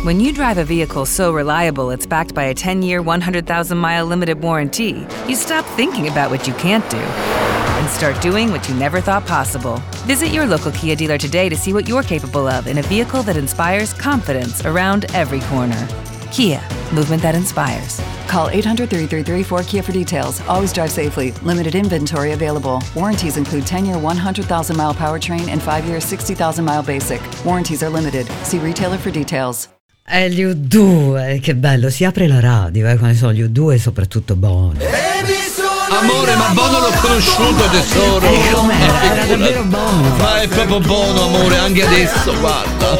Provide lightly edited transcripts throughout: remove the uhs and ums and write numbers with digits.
When you drive a vehicle so reliable it's backed by a 10-year, 100,000-mile limited warranty, you stop thinking about what you can't do and start doing what you never thought possible. Visit your local Kia dealer today to see what you're capable of in a vehicle that inspires confidence around every corner. Kia, movement that inspires. Call 800-333-4KIA for details. Always drive safely. Limited inventory available. Warranties include 10-year 100,000-mile powertrain and 5-year 60,000-mile basic. Warranties are limited. See retailer for details. Gli U2, che bello, si apre la radio, quando sono gli U2 e soprattutto Bono. Amore, ma Bono l'ho conosciuto, tesoro. Com'era? Era davvero Bono. Ma è proprio Bono, amore, anche adesso, guarda.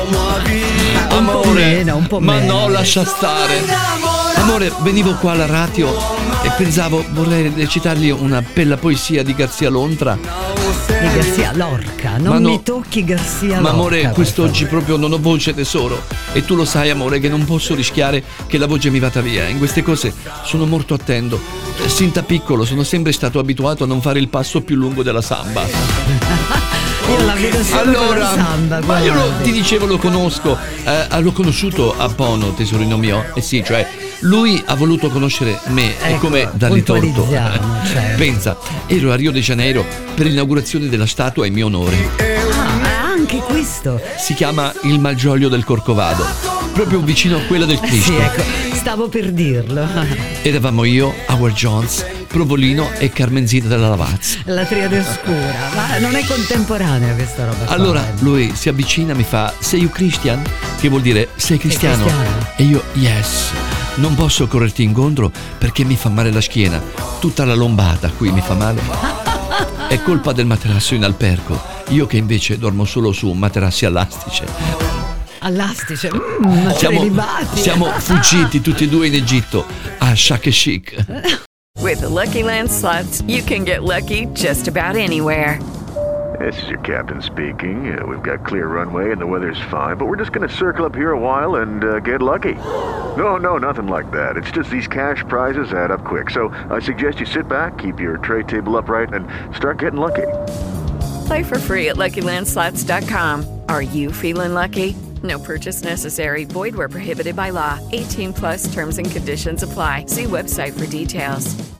Amore, un po' ma meno. no, lascia stare. Amore, venivo qua alla radio e pensavo, vorrei recitargli una bella poesia di Garzia Lontra. Di Garzia Lorca, non mi tocchi Garzia Lorca. Ma amore, quest'oggi proprio non ho voce, tesoro. E tu lo sai, amore, che non posso rischiare che la voce mi vada via. In queste cose sono molto attento. Sin da piccolo sono sempre stato abituato a non fare il passo più lungo della samba. Io la vedo solo con la samba. Ma io ti dicevo, lo conosco. L'ho conosciuto a Bono, tesorino mio. Eh sì, cioè lui ha voluto conoscere me, ecco, e come dargli torto. Certo. Pensa, ero a Rio de Janeiro per l'inaugurazione della statua in mio onore. Anche questo Si chiama il Malgioglio del Corcovado, proprio vicino a quella del Cristo. sì, ecco, stavo per dirlo. Eravamo io, Howard Jones, Provolino e Carmenzita della Lavazza. La triade oscura, ma non è contemporanea questa roba qua. Allora lui si avvicina e mi fa: "Sei you Christian?" Che vuol dire sei cristiano? cristiano. E io: "Yes." Non posso correrti incontro perché mi fa male la schiena. Tutta la lombata qui mi fa male. È colpa del materasso in albergo. Io che invece dormo solo su materassi all'astice. All'astice, Siamo fuggiti tutti e due in Egitto a Shark e Chic. With the Lucky Land Slots, you can get lucky just about anywhere. This is your captain speaking. We've got clear runway and the weather's fine, but we're just going to circle up here a while and get lucky. No, nothing like that. It's just these cash prizes add up quick. So I suggest you sit back, keep your tray table upright, and start getting lucky. Play for free at LuckyLandSlots.com. Are you feeling lucky? No purchase necessary. Void where prohibited by law. 18+ terms and conditions apply. See website for details.